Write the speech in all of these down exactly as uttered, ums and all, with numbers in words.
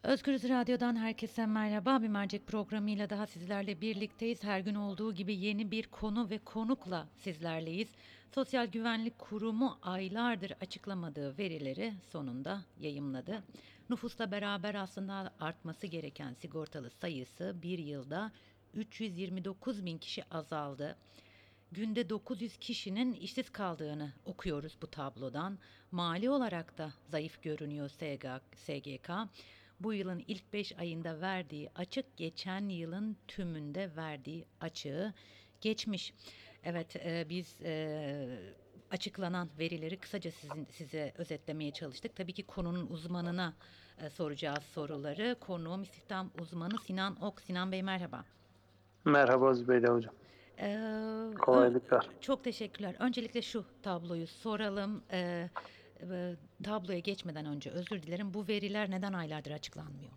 Özgürüz Radyo'dan herkese merhaba. Bir mercek programıyla daha sizlerle birlikteyiz. Her gün olduğu gibi yeni bir konu ve konukla sizlerleyiz. Sosyal Güvenlik Kurumu aylardır açıklamadığı verileri sonunda yayımladı. Nüfusla beraber aslında artması gereken sigortalı sayısı bir yılda üç yüz yirmi dokuz bin kişi azaldı. Günde dokuz yüz kişinin işsiz kaldığını okuyoruz bu tablodan. Mali olarak da zayıf görünüyor S G K. Bu yılın ilk beş ayında verdiği açık geçen yılın tümünde verdiği açığı geçmiş. Evet, e, biz e, açıklanan verileri kısaca sizin, size özetlemeye çalıştık. Tabii ki konunun uzmanına e, soracağız soruları. Konuğum istihdam uzmanı Sinan Ok. Sinan Bey merhaba. Merhaba Zübeyde Hocam. Ee, ö- Kolaylıklar. Çok teşekkürler. Öncelikle şu tabloyu soralım. Ee, e, tabloya geçmeden önce özür dilerim. Bu veriler neden aylardır açıklanmıyor?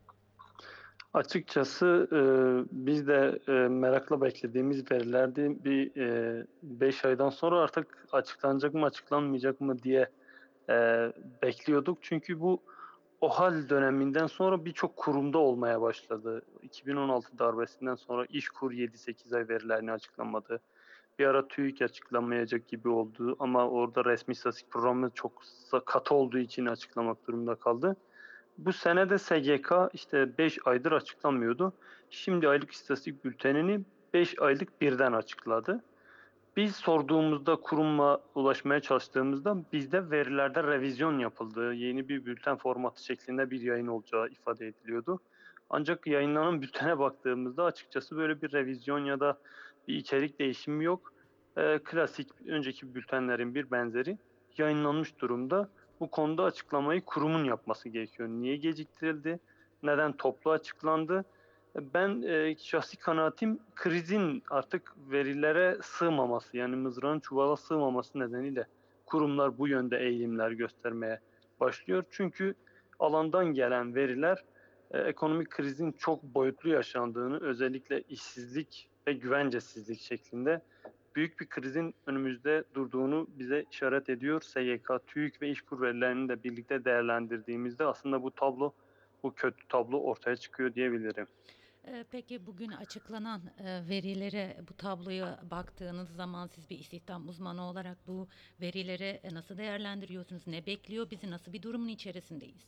Açıkçası e, biz de e, merakla beklediğimiz verilerdi. Bir e, beş aydan sonra artık açıklanacak mı açıklanmayacak mı diye e, bekliyorduk. Çünkü bu OHAL döneminden sonra birçok kurumda olmaya başladı. iki bin on altı darbesinden sonra İşkur yedi sekiz ay verilerini açıklamadı. Bir ara TÜİK açıklamayacak gibi oldu ama orada resmi istatistik programı çok katı olduğu için açıklamak durumunda kaldı. Bu sene de S G K işte beş aydır açıklamıyordu. Şimdi aylık istatistik bültenini beş aylık birden açıkladı. Biz sorduğumuzda kuruma ulaşmaya çalıştığımızda bizde verilerde revizyon yapıldığı, yeni bir bülten formatı şeklinde bir yayın olacağı ifade ediliyordu. Ancak yayınlanan bültene baktığımızda açıkçası böyle bir revizyon ya da bir içerik değişimi yok. Ee, klasik önceki bültenlerin bir benzeri yayınlanmış durumda. Bu konuda açıklamayı kurumun yapması gerekiyor. Niye geciktirildi? Neden toplu açıklandı? Ben e, şahsi kanaatim krizin artık verilere sığmaması, yani mızrağın çuvala sığmaması nedeniyle kurumlar bu yönde eğilimler göstermeye başlıyor. Çünkü alandan gelen veriler e, ekonomik krizin çok boyutlu yaşandığını, özellikle işsizlik ve güvencesizlik şeklinde büyük bir krizin önümüzde durduğunu bize işaret ediyor. S G K, TÜİK ve İşkur verilerini de birlikte değerlendirdiğimizde aslında bu tablo, bu kötü tablo ortaya çıkıyor diyebilirim. Ee, peki bugün açıklanan e, verilere, bu tabloya baktığınız zaman siz bir istihdam uzmanı olarak bu verileri e, nasıl değerlendiriyorsunuz? Ne bekliyor bizi? Nasıl bir durumun içerisindeyiz?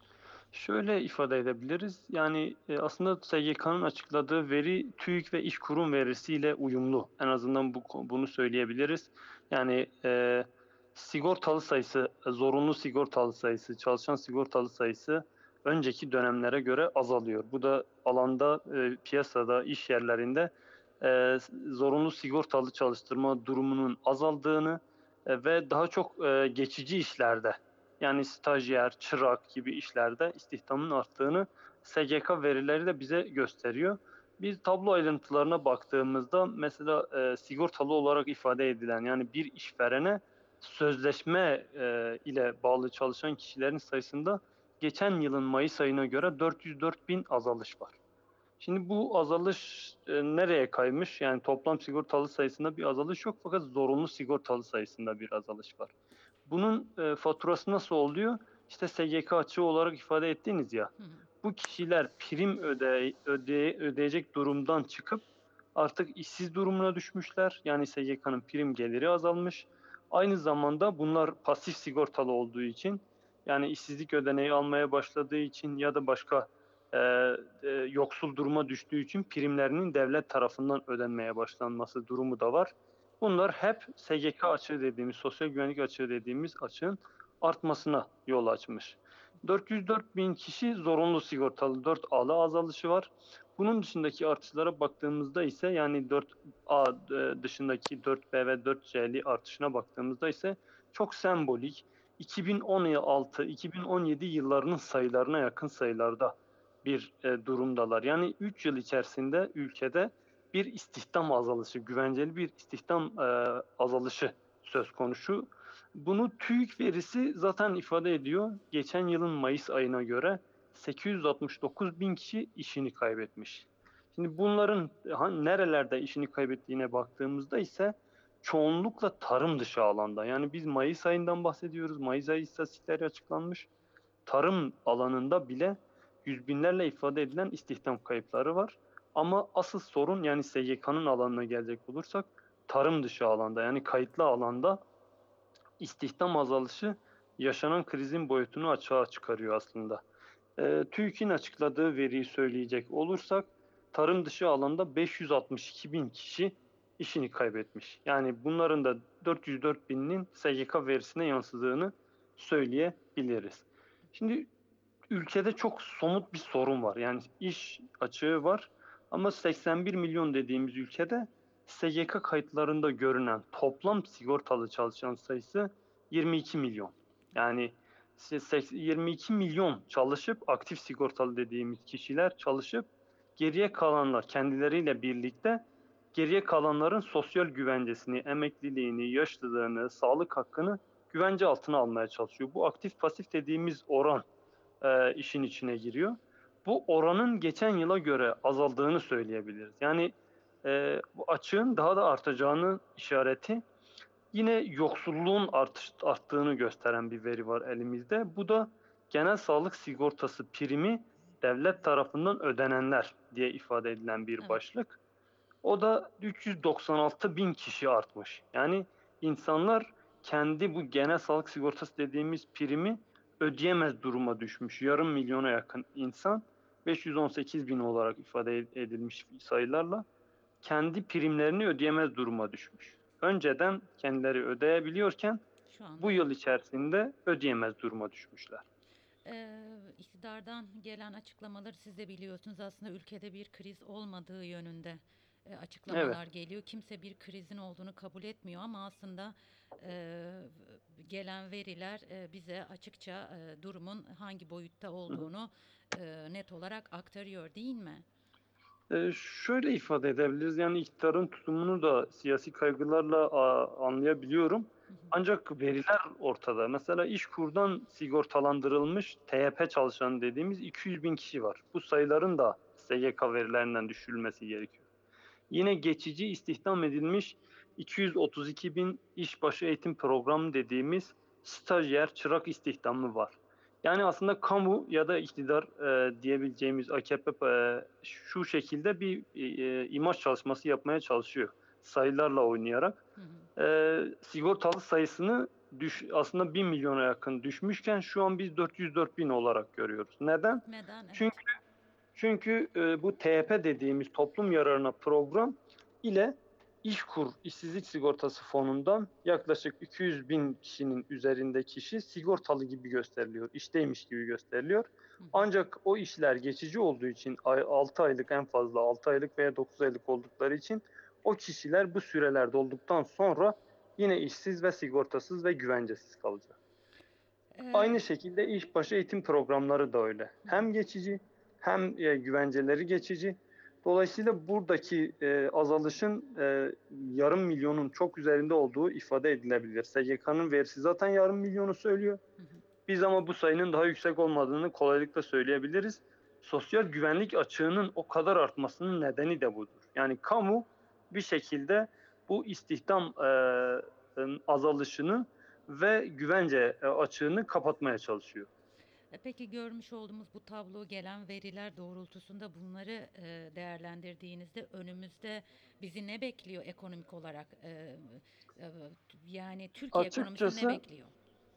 Şöyle ifade edebiliriz. Yani e, aslında S G K'nın açıkladığı veri TÜİK ve İşkur'un verisiyle uyumlu. En azından bu bunu söyleyebiliriz. Yani e, sigortalı sayısı, e, zorunlu sigortalı sayısı, çalışan sigortalı sayısı önceki dönemlere göre azalıyor. Bu da alanda, e, piyasada, iş yerlerinde e, zorunlu sigortalı çalıştırma durumunun azaldığını e, ve daha çok e, geçici işlerde, yani stajyer, çırak gibi işlerde istihdamın arttığını S G K verileri de bize gösteriyor. Biz tablo ayrıntılarına baktığımızda mesela e, sigortalı olarak ifade edilen, yani bir işverene sözleşme e, ile bağlı çalışan kişilerin sayısında geçen yılın Mayıs ayına göre dört yüz dört bin azalış var. Şimdi bu azalış e, nereye kaymış? Yani toplam sigortalı sayısında bir azalış yok, fakat zorunlu sigortalı sayısında bir azalış var. Bunun e, faturası nasıl oluyor? İşte S G K açığı olarak ifade ettiğiniz ya. Hı hı. Bu kişiler prim öde, öde, ödeyecek durumdan çıkıp artık işsiz durumuna düşmüşler. Yani S G K'nın prim geliri azalmış. Aynı zamanda bunlar pasif sigortalı olduğu için, yani işsizlik ödeneği almaya başladığı için ya da başka e, e, yoksul duruma düştüğü için primlerinin devlet tarafından ödenmeye başlanması durumu da var. Bunlar hep S G K açığı dediğimiz, sosyal güvenlik açığı dediğimiz açığın artmasına yol açmış. dört yüz dört bin kişi zorunlu sigortalı, dört A'lı azalışı var. Bunun dışındaki artışlara baktığımızda ise, yani dört A e, dışındaki dört B ve dört C'li artışına baktığımızda ise çok sembolik, iki bin on altı iki bin on yedi yıllarının sayılarına yakın sayılarda bir e, durumdalar. Yani üç yıl içerisinde ülkede bir istihdam azalışı, güvenceli bir istihdam e, azalışı söz konusu. Bunu TÜİK verisi zaten ifade ediyor. Geçen yılın Mayıs ayına göre sekiz yüz altmış dokuz bin kişi işini kaybetmiş. Şimdi bunların hani nerelerde işini kaybettiğine baktığımızda ise çoğunlukla tarım dışı alanda. Yani biz Mayıs ayından bahsediyoruz. Mayıs ayı istatistikleri açıklanmış. Tarım alanında bile yüz binlerle ifade edilen istihdam kayıpları var. Ama asıl sorun, yani S G K'nın alanına gelecek olursak, tarım dışı alanda, yani kayıtlı alanda istihdam azalışı yaşanan krizin boyutunu açığa çıkarıyor aslında. Eee, TÜİK'in açıkladığı veriyi söyleyecek olursak, tarım dışı alanda beş yüz altmış iki bin kişi işini kaybetmiş. Yani bunların da dört yüz dört bininin S G K verisine yansıdığını söyleyebiliriz. Şimdi ülkede çok somut bir sorun var. Yani iş açığı var ama seksen bir milyon dediğimiz ülkede S G K kayıtlarında görünen toplam sigortalı çalışan sayısı yirmi iki milyon. Yani yirmi iki milyon çalışıp, aktif sigortalı dediğimiz kişiler çalışıp, geriye kalanlar kendileriyle birlikte geriye kalanların sosyal güvencesini, emekliliğini, yaşlılığını, sağlık hakkını güvence altına almaya çalışıyor. Bu aktif pasif dediğimiz oran e, işin içine giriyor. Bu oranın geçen yıla göre azaldığını söyleyebiliriz. Yani e, bu açığın daha da artacağını işareti, yine yoksulluğun artış, arttığını gösteren bir veri var elimizde. Bu da genel sağlık sigortası primi devlet tarafından ödenenler diye ifade edilen bir Evet. başlık. O da üç yüz doksan altı bin kişi artmış. Yani insanlar kendi bu genel sağlık sigortası dediğimiz primi ödeyemez duruma düşmüş. Yarım milyona yakın insan, beş yüz on sekiz bin olarak ifade edilmiş sayılarla, kendi primlerini ödeyemez duruma düşmüş. Önceden kendileri ödeyebiliyorken Şu anda bu yıl evet. içerisinde ödeyemez duruma düşmüşler. Ee, iktidardan gelen açıklamaları siz de biliyorsunuz. Aslında ülkede bir kriz olmadığı yönünde e, Evet. açıklamalar geliyor. Kimse bir krizin olduğunu kabul etmiyor ama aslında e, gelen veriler e, bize açıkça e, durumun hangi boyutta Hı hı. olduğunu e, net olarak aktarıyor, değil mi? Ee, şöyle ifade edebiliriz, yani iktidarın tutumunu da siyasi kaygılarla a, anlayabiliyorum. Hı hı. Ancak veriler ortada. Mesela İşkur'dan sigortalandırılmış T Y P çalışanı dediğimiz iki yüz bin kişi var. Bu sayıların da S G K verilerinden düşürülmesi gerekiyor. Yine geçici istihdam edilmiş iki yüz otuz iki bin işbaşı eğitim programı dediğimiz stajyer, çırak istihdamı var. Yani aslında kamu ya da iktidar e, diyebileceğimiz A K P e, şu şekilde bir e, imaj çalışması yapmaya çalışıyor. Sayılarla oynayarak. Hı hı. E, sigortalı sayısını düş, aslında bir milyona yakın düşmüşken şu an biz dört yüz dört bin olarak görüyoruz. Neden? Neden? Çünkü Evet. çünkü e, bu T Y P dediğimiz toplum yararına program ile İşkur işsizlik sigortası fonundan yaklaşık iki yüz bin kişinin üzerinde kişi sigortalı gibi gösteriliyor, işteymiş gibi gösteriliyor. Hı hı. Ancak o işler geçici olduğu için, altı aylık, en fazla altı aylık veya dokuz aylık oldukları için, o kişiler bu süreler dolduktan sonra yine işsiz ve sigortasız ve güvencesiz kalacak. Ee, Aynı şekilde işbaşı eğitim programları da öyle. hı hı. Hem geçici hem e, güvenceleri geçici. Dolayısıyla buradaki e, azalışın e, yarım milyonun çok üzerinde olduğu ifade edilebilir. S G K'nın verisi zaten yarım milyonu söylüyor. Hı hı. Biz ama bu sayının daha yüksek olmadığını kolaylıkla söyleyebiliriz. Sosyal güvenlik açığının o kadar artmasının nedeni de budur. Yani kamu bir şekilde bu istihdam e, azalışını ve güvence e, açığını kapatmaya çalışıyor. E, Peki görmüş olduğumuz bu tablo, gelen veriler doğrultusunda bunları e, değerlendirdiğinizde önümüzde bizi ne bekliyor ekonomik olarak? E, e, yani Türkiye ekonomisi ne Açıkçası bekliyor?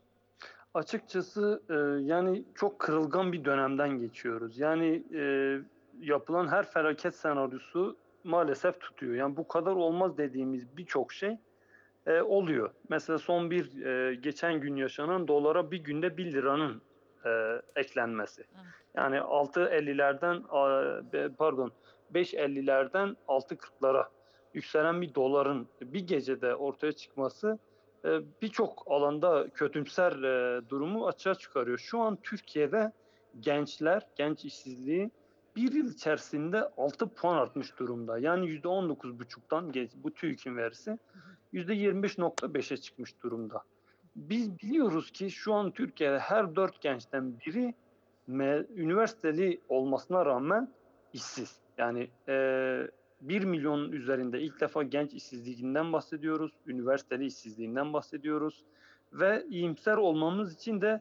açıkçası e, yani çok kırılgan bir dönemden geçiyoruz. Yani e, yapılan her felaket senaryosu maalesef tutuyor. Yani bu kadar olmaz dediğimiz birçok şey e, oluyor. Mesela son bir e, geçen gün yaşanan dolara bir günde bir liranın e, eklenmesi. Evet. Yani altı ellilerden pardon beş ellilerden altı kırklara yükselen bir doların bir gecede ortaya çıkması e, birçok alanda kötümser e, durumu açığa çıkarıyor. Şu an Türkiye'de gençler, genç işsizliği bir yıl içerisinde altı puan artmış durumda. Yani yüzde on dokuz buçuktan, bu TÜİK'in verisi, Hı hı. yüzde yirmi beş nokta beşe çıkmış durumda. Biz biliyoruz ki şu an Türkiye'de her dört gençten biri üniversiteli olmasına rağmen işsiz. Yani e, bir milyonun üzerinde ilk defa genç işsizliğinden bahsediyoruz, üniversiteli işsizliğinden bahsediyoruz ve iyimser olmamız için de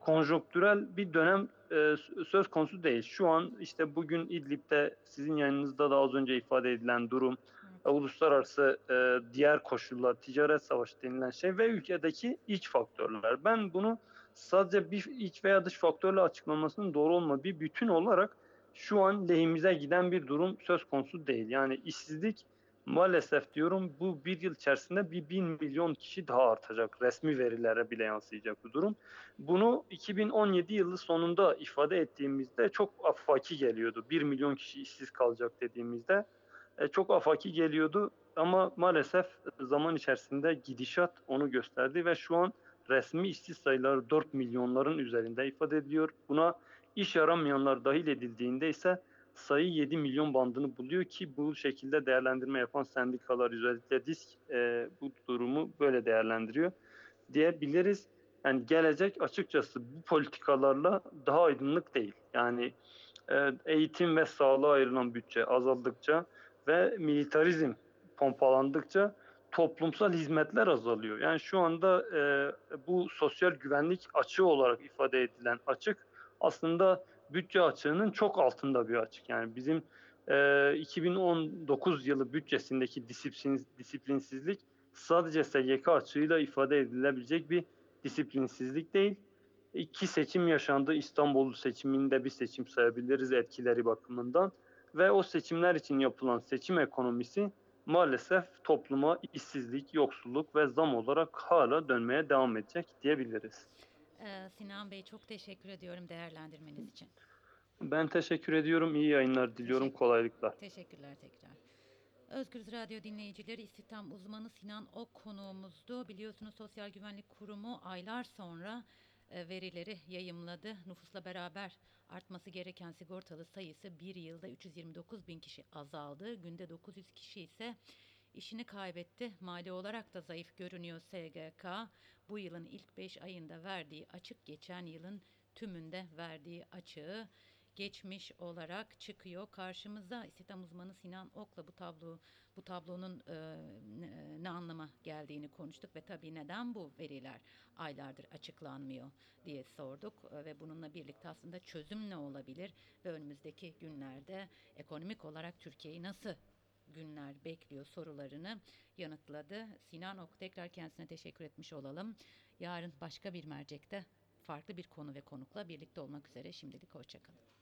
konjonktürel bir dönem e, söz konusu değil. Şu an işte bugün İdlib'de sizin yayınınızda da az önce ifade edilen durum, e, Evet. uluslararası e, diğer koşullar, ticaret savaşı denilen şey ve ülkedeki iç faktörler. Ben bunu sadece bir iç veya dış faktörle açıklamasının doğru olmadığı bir bütün olarak şu an lehimize giden bir durum söz konusu değil. Yani işsizlik maalesef diyorum bu bir yıl içerisinde bir bin milyon kişi daha artacak. Resmi verilere bile yansıyacak bu durum. Bunu iki bin on yedi yılı sonunda ifade ettiğimizde çok afaki geliyordu. Bir milyon kişi işsiz kalacak dediğimizde e, çok afaki geliyordu. Ama maalesef zaman içerisinde gidişat onu gösterdi ve şu an resmi işsiz sayıları dört milyonların üzerinde ifade ediliyor. Buna iş aramayanlar dahil edildiğinde ise sayı yedi milyon bandını buluyor ki bu şekilde değerlendirme yapan sendikalar özellikle disk e, bu durumu böyle değerlendiriyor diyebiliriz. Yani gelecek açıkçası bu politikalarla daha aydınlık değil. Yani e, eğitim ve sağlığa ayrılan bütçe azaldıkça ve militarizm pompalandıkça toplumsal hizmetler azalıyor. Yani şu anda e, bu sosyal güvenlik açığı olarak ifade edilen açık aslında bütçe açığının çok altında bir açık. Yani bizim e, iki bin on dokuz yılı bütçesindeki disiplin, disiplinsizlik sadece S G K açığıyla ifade edilebilecek bir disiplinsizlik değil. İki seçim yaşandı. İstanbul seçiminde bir seçim sayabiliriz etkileri bakımından. Ve o seçimler için yapılan seçim ekonomisi maalesef topluma işsizlik, yoksulluk ve zam olarak hala dönmeye devam edecek diyebiliriz. Ee, Sinan Bey, çok teşekkür ediyorum değerlendirmeniz için. Ben teşekkür ediyorum. İyi yayınlar diliyorum. Teşekkür, Kolaylıklar. teşekkürler tekrar. Özgürüz Radyo dinleyicileri, istihdam uzmanı Sinan Ok konuğumuzdu. Biliyorsunuz Sosyal Güvenlik Kurumu aylar sonra e, verileri yayımladı. Nüfusla beraber artması gereken sigortalı sayısı bir yılda üç yüz yirmi dokuz bin kişi azaldı. Günde dokuz yüz kişi ise işini kaybetti. Mali olarak da zayıf görünüyor S G K. Bu yılın ilk beş ayında verdiği açık geçen yılın tümünde verdiği açığı geçmiş olarak çıkıyor karşımıza. İstihdam uzmanı Sinan Ok'la bu tablo bu tablonun e, ne, ne anlama geldiğini konuştuk ve tabii neden bu veriler aylardır açıklanmıyor diye sorduk. E, ve bununla birlikte aslında çözüm ne olabilir ve önümüzdeki günlerde ekonomik olarak Türkiye'yi nasıl günler bekliyor sorularını yanıtladı. Sinan Ok, tekrar kendisine teşekkür etmiş olalım. Yarın başka bir mercekte farklı bir konu ve konukla birlikte olmak üzere, şimdilik hoşçakalın.